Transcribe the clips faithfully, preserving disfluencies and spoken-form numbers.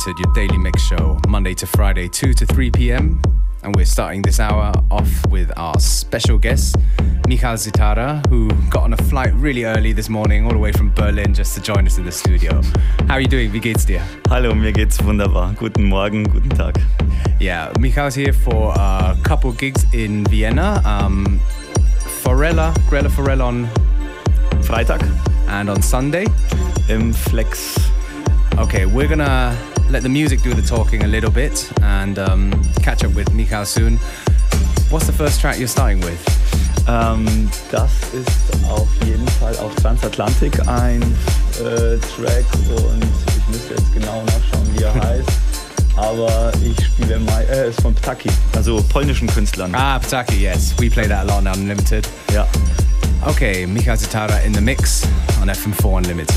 Unlimited, your daily mix show, Monday to Friday, two to three p.m. And we're starting this hour off with our special guest, Michal Zitara, who got on a flight really early this morning, all the way from Berlin, just to join us in the studio. How are you doing? Wie geht's dir? Hallo, mir geht's wunderbar. Guten Morgen, guten Tag. Yeah, Michal's here for a couple gigs in Vienna. Um, Forella, Grella Forella on Freitag. And on Sunday. Im Flex. Okay, we're gonna let the music do the talking a little bit and um, catch up with Michal soon. What's the first track you're starting with? Ähm, das ist auf jeden Fall auf Transatlantic ein äh, Track und ich müsste jetzt genau nachschauen, wie er heißt. Aber ich spiele mal, äh, ist von Ptaki, also polnischen Künstlern. Ah, Ptaki, yes. We play that a lot on Unlimited. Ja. Okay, Michal Zitara in the mix on F M four Unlimited.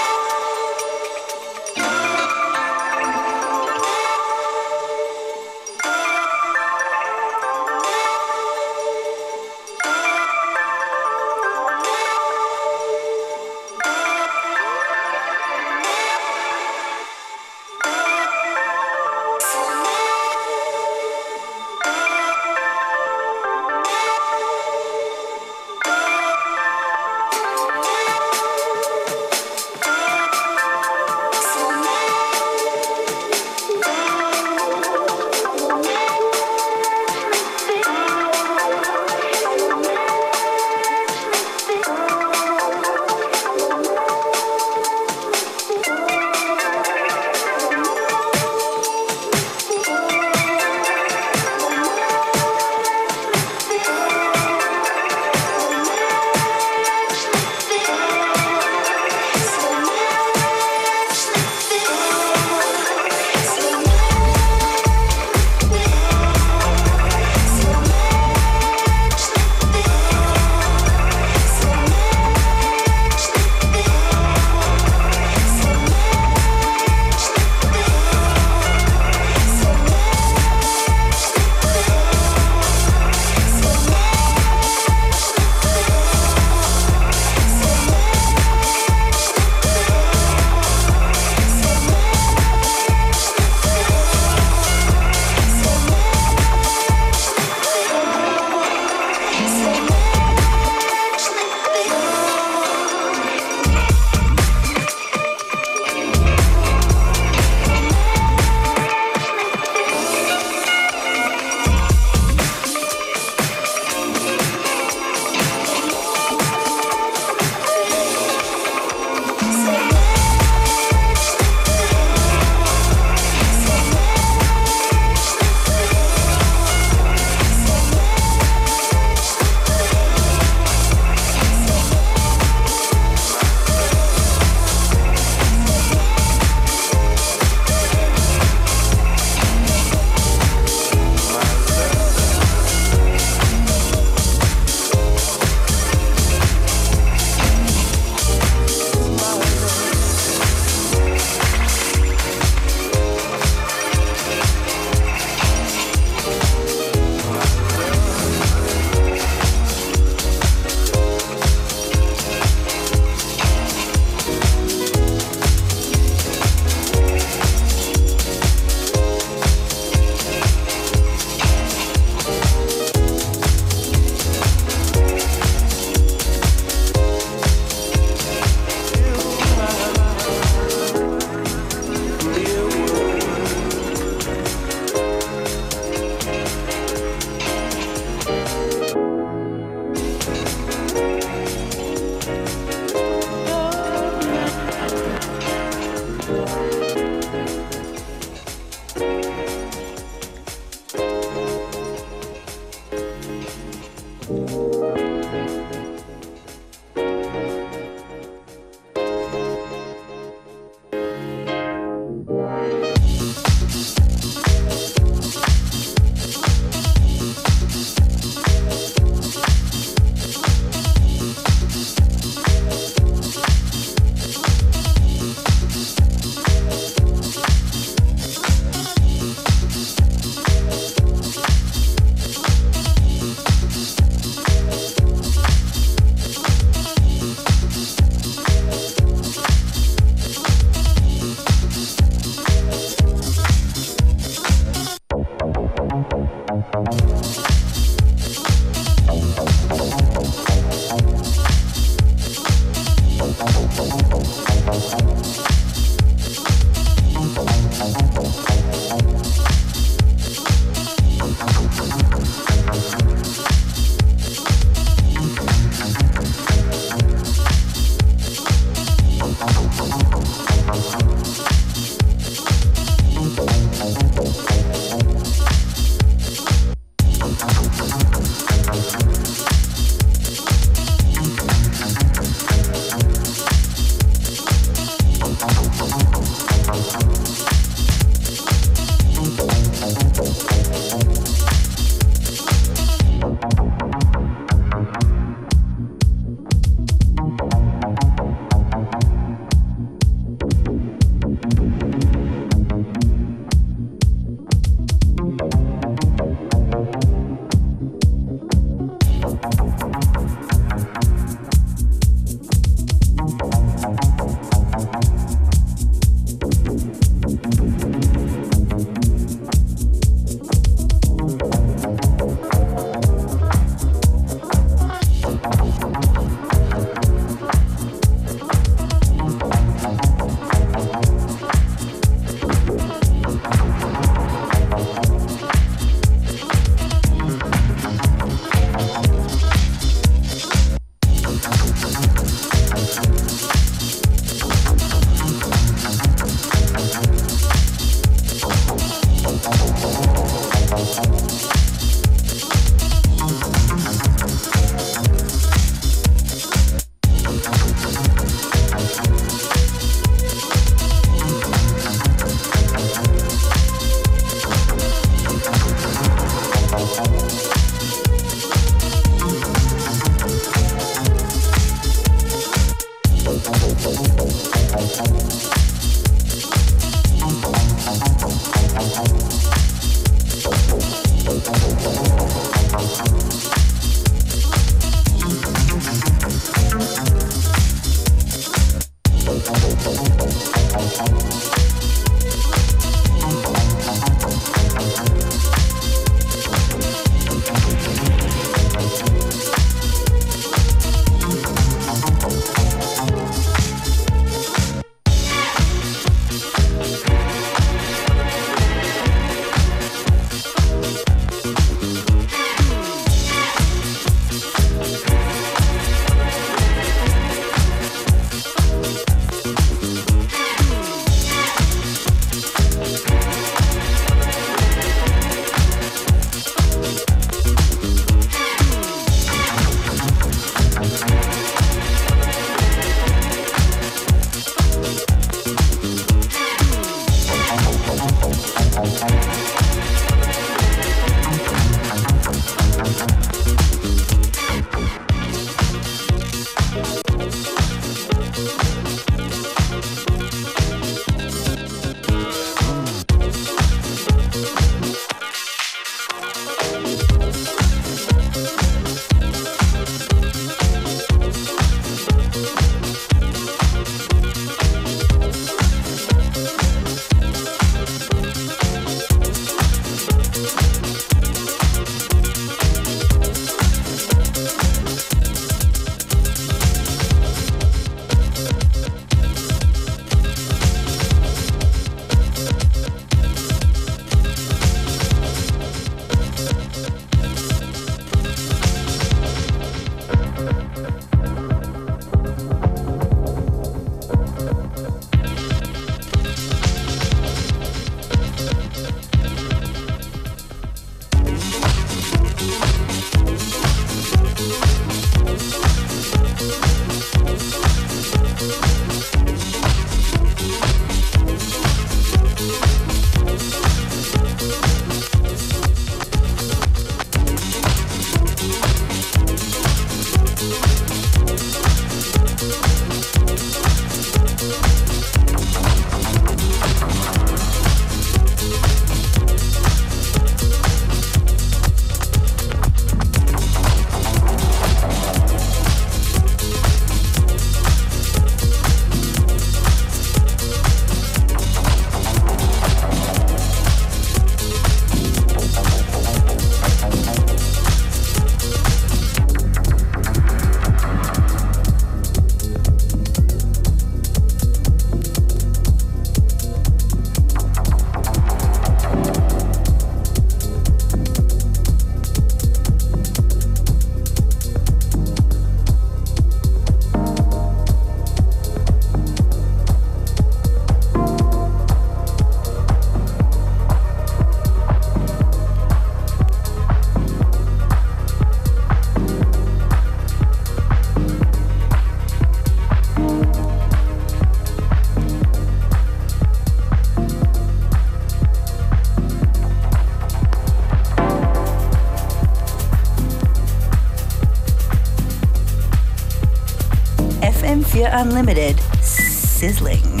Unlimited, sizzling.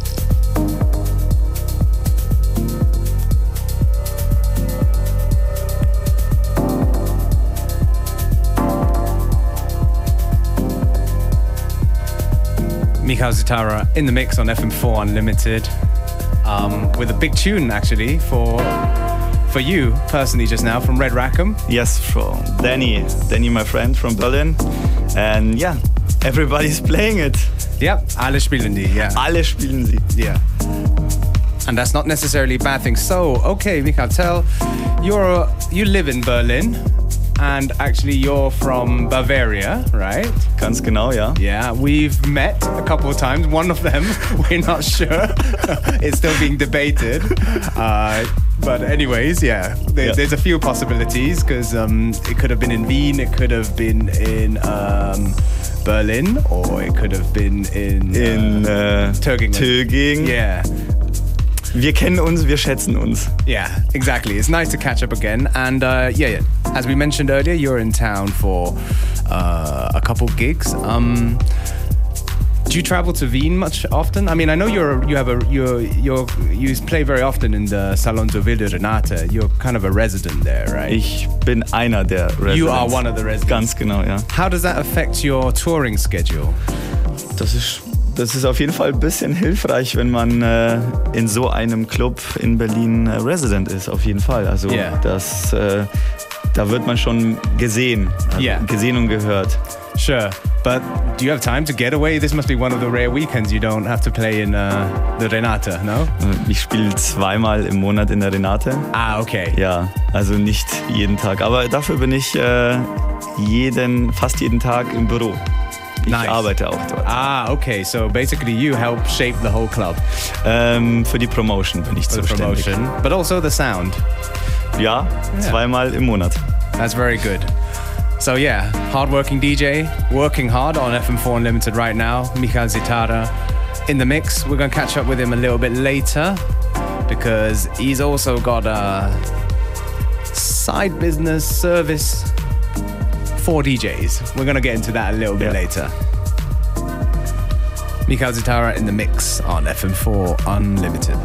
Michal Zitara in the mix on F M four Unlimited, um, with a big tune actually for for you personally just now from Red Rackham. Yes, from Danny, Danny, my friend from Berlin, and yeah. Everybody's playing it. Yep, alle spielen die, yeah. Alle spielen sie. Yeah. And that's not necessarily a bad thing. So, okay, Michal, tell, you're, you live in Berlin, and actually you're from Bavaria, right? Ganz genau, ja. Yeah, we've met a couple of times. One of them, we're not sure. It's still being debated. Uh, but anyways, yeah, there, yeah. there's a few possibilities, because um, it could have been in Wien, it could have been in... Um, Berlin, or it could have been in, in uh, uh, Tögingen. Tögingen. Yeah. Wir kennen uns, wir schätzen uns. Yeah, exactly. It's nice to catch up again. And uh, yeah, yeah, as we mentioned earlier, you're in town for uh, a couple gigs. Um, you travel to Wien much often? I mean, I know you're you have a you're you're you play very often in the Salon de Ville de Renate. You're kind of a resident there, right? Ich bin einer der Residents. You are one of the residents. Ganz genau, ja. How does that affect your touring schedule? Das ist Das ist auf jeden Fall ein bisschen hilfreich, wenn man äh, in so einem Club in Berlin äh, Resident ist, auf jeden Fall. Also yeah. das, äh, da wird man schon gesehen, also yeah. gesehen und gehört. Sure, but do you have time to get away? This must be one of the rare weekends you don't have to play in uh, the Renate, no? Ich spiele zweimal im Monat in der Renate. Ah, okay. Ja, also nicht jeden Tag, aber dafür bin ich äh, jeden, fast jeden Tag im Büro. Ich nice. arbeite auch dort. Ah, okay. So basically you help shape the whole club. Ähm, für die Promotion bin ich For zuständig. the promotion, but also the sound. Ja, Yeah. zweimal im Monat. That's very good. So yeah, hard-working D J, working hard on F M four Unlimited right now. Michal Zitara in the mix. We're going to catch up with him a little bit later because he's also got a side business service for D Js. We're going to get into that a little bit yeah. later. Michal Zitara in the mix on F M four Unlimited.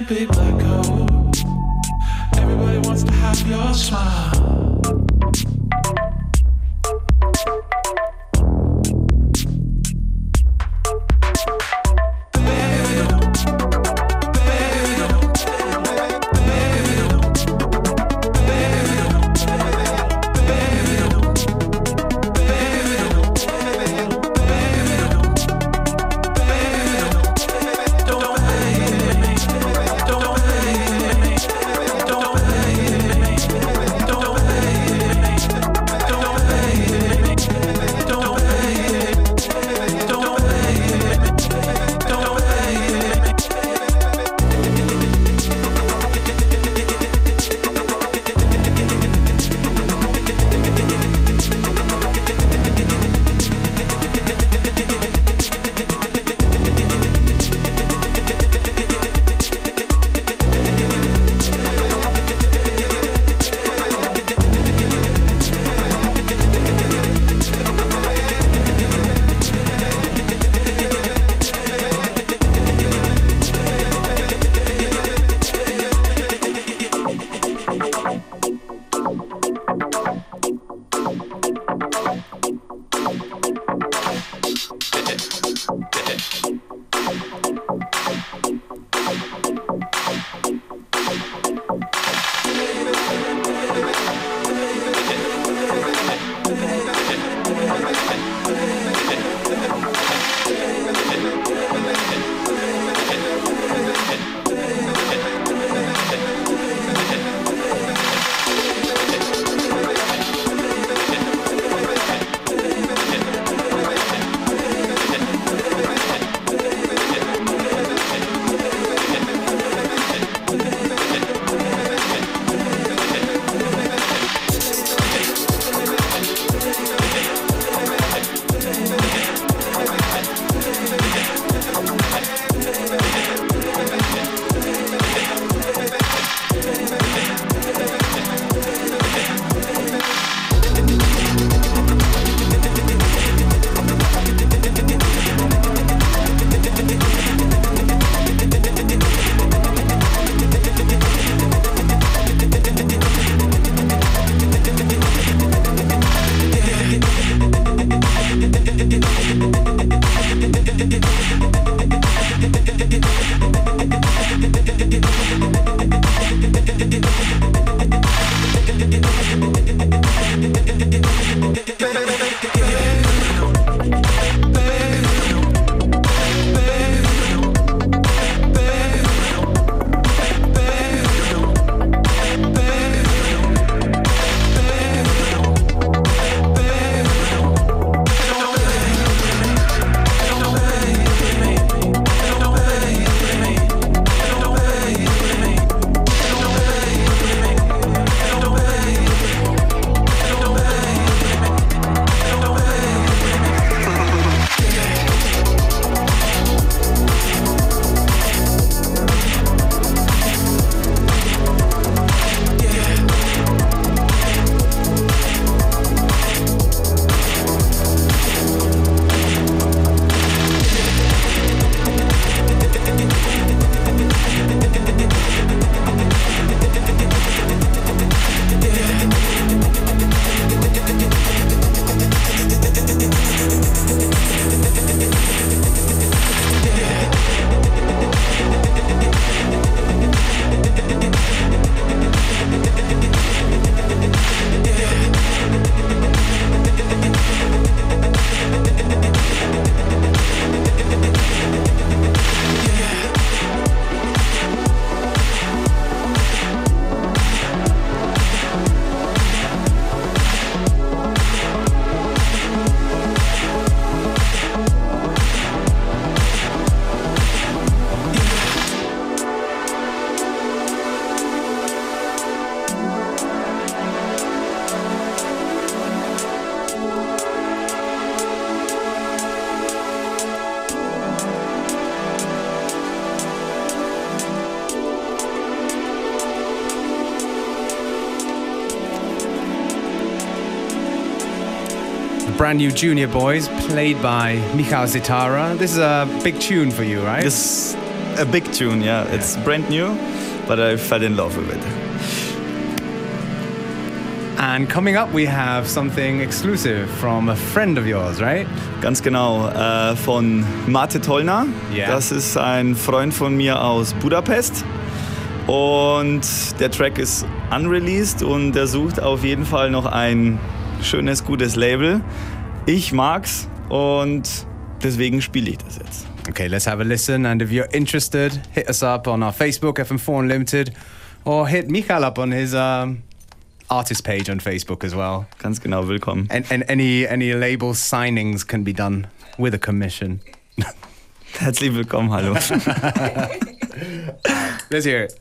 big black coat. Everybody wants to have your smile. brand new Junior Boys, played by Michal Zitara. This is a big tune for you, right? Das a big tune, yeah. It's brand new, but I fell in love with it. And coming up, we have something exclusive from a friend of yours, right? Ganz genau, äh, von Mate Tollner. Yeah. Das ist ein Freund von mir aus Budapest. Und der Track ist unreleased und er sucht auf jeden Fall noch ein schönes, gutes Label. Ich mag's und deswegen spiele ich das jetzt. Okay, let's have a listen. And if you're interested, hit us up on our Facebook, F M four Unlimited, or hit Michael up on his um, artist page on Facebook as well. Ganz genau, willkommen. And, and any any label signings can be done with a commission. Herzlich willkommen, hallo. Let's hear it.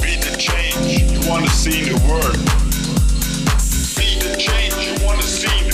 See the word. Be the change you wanna see.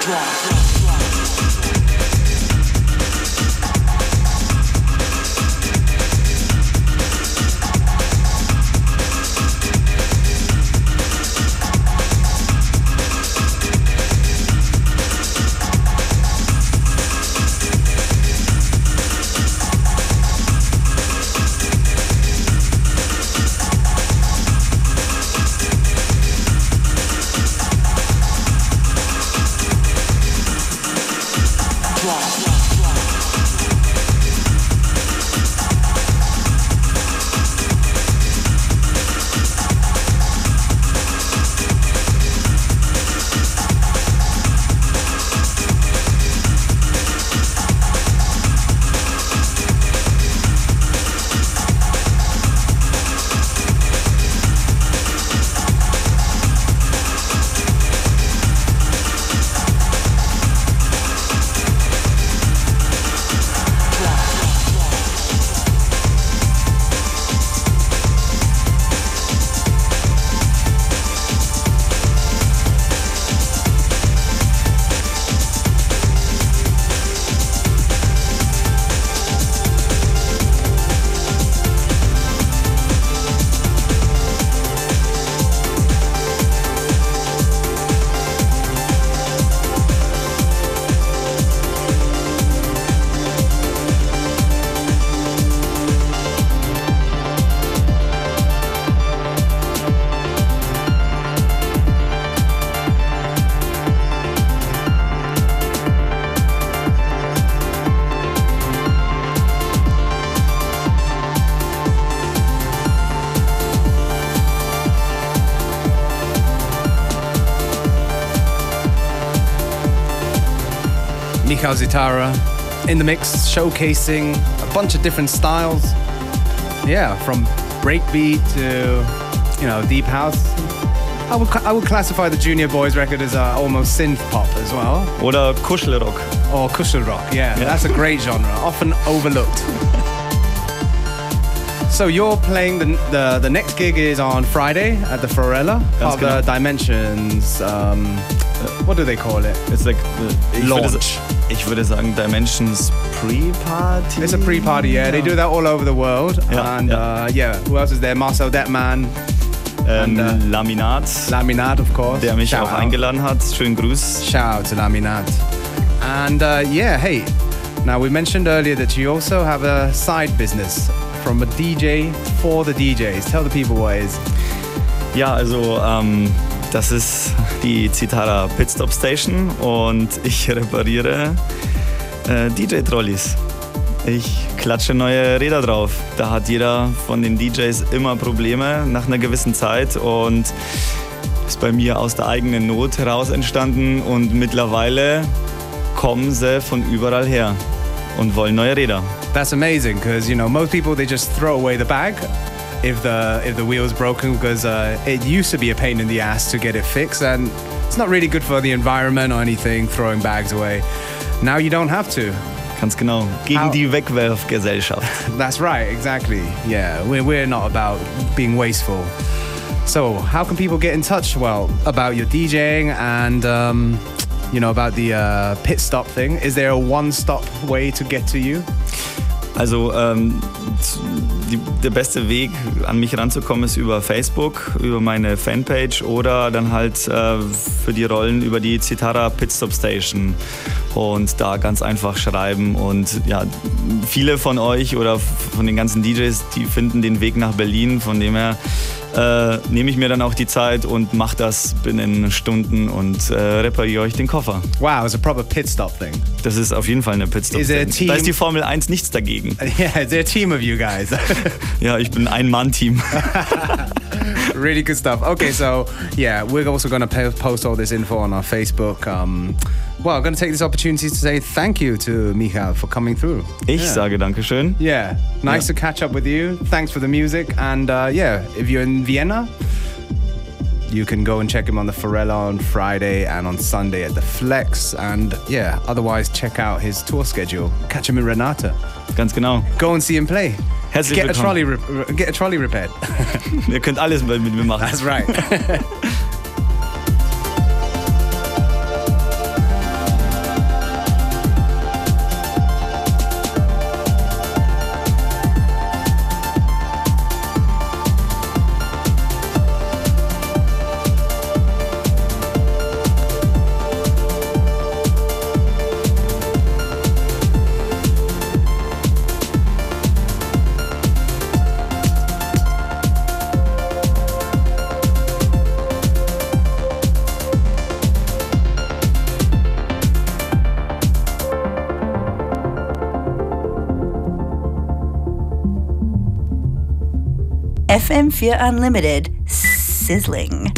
Michal Zitara in the mix, showcasing a bunch of different styles. Yeah, from breakbeat to, you know, deep house. I would, I would classify the Junior Boys record as uh, almost synth pop as well. Oder Kuschelrock. Or Kuschelrock, yeah, yeah. That's a great genre, often overlooked. So you're playing the, the the next gig is on Friday at the Forella, part of the Dimensions. Um, what do they call it? It's like the, launch. Würde, ich würde sagen Dimensions pre-party. It's a pre-party, yeah. yeah. They do that all over the world. Yeah, and yeah. Uh, yeah, who else is there? Marcel Detman. Ähm, and, uh, Laminat. Laminat, of course. Der mich Shout auch out. eingeladen hat. Schönen Gruß. Shout out to Laminat. And uh, yeah, hey, now we mentioned earlier that you also have a side business from a D J for the D Js. Tell the people what it is. Ja, also ähm, das ist die Zitara Pitstop Station und ich repariere äh, D J-Trolleys. Ich klatsche neue Räder drauf. Da hat jeder von den D Js immer Probleme nach einer gewissen Zeit und ist bei mir aus der eigenen Not heraus entstanden und mittlerweile kommen sie von überall her und wollen neue Räder. That's amazing because, you know, most people, they just throw away the bag if the if the wheel's broken because uh, it used to be a pain in the ass to get it fixed and it's not really good for the environment or anything, throwing bags away. Now you don't have to. Ganz genau. Gegen How? die Wegwerfgesellschaft. That's right, exactly. Yeah, we're, we're not about being wasteful. So how can people get in touch, well, about your DJing and, um, you know, about the uh, pit stop thing? Is there a one-stop way to get to you? Also ähm, die, der beste Weg, an mich ranzukommen, ist über Facebook, über meine Fanpage oder dann halt äh, für die Rollen über die Zitara Pitstop Station und da ganz einfach schreiben. Und ja, viele von euch oder von den ganzen D Js, die finden den Weg nach Berlin, von dem her äh, nehme ich mir dann auch die Zeit und mache das binnen Stunden und äh, repariere euch den Koffer. Wow, it's a proper pit stop thing. Das ist auf jeden Fall eine Pitstop. Is there a team? Da ist die Formel eins nichts dagegen. Yeah, is there a team of you guys? Ja, ich bin ein Mann-Team. Really good stuff. Okay, so yeah, we're also going to post all this info on our Facebook. Um, well, I'm going to take this opportunity to say thank you to Michal for coming through. Ich yeah. sage Dankeschön. Yeah, nice Yeah. to catch up with you. Thanks for the music. And uh, yeah, if you're in Vienna, you can go and check him on the Forella on Friday and on Sunday at the Flex. And yeah, otherwise check out his tour schedule. Catch him in Renata. Ganz genau. Go and see him play. Herzlich Get a willkommen. trolley, re- get a trolley repaired. Ihr könnt alles mit mir machen. That's right. M vier Unlimited. Sizzling.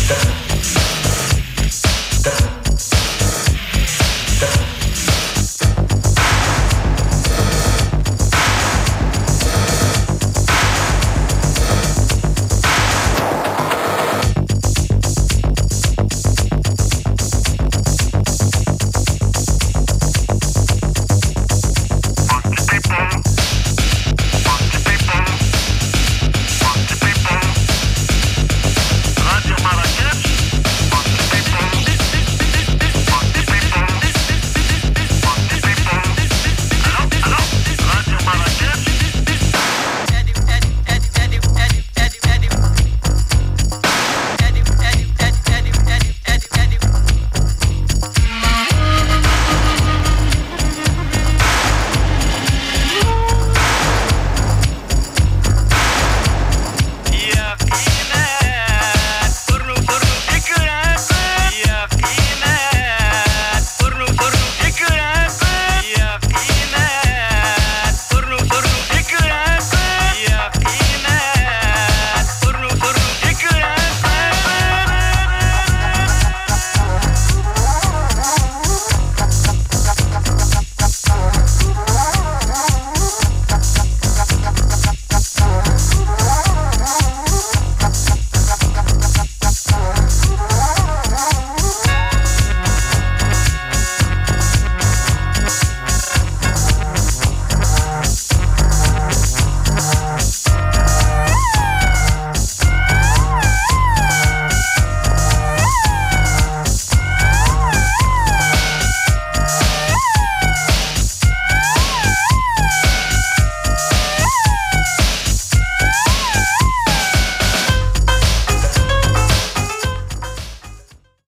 Definitely.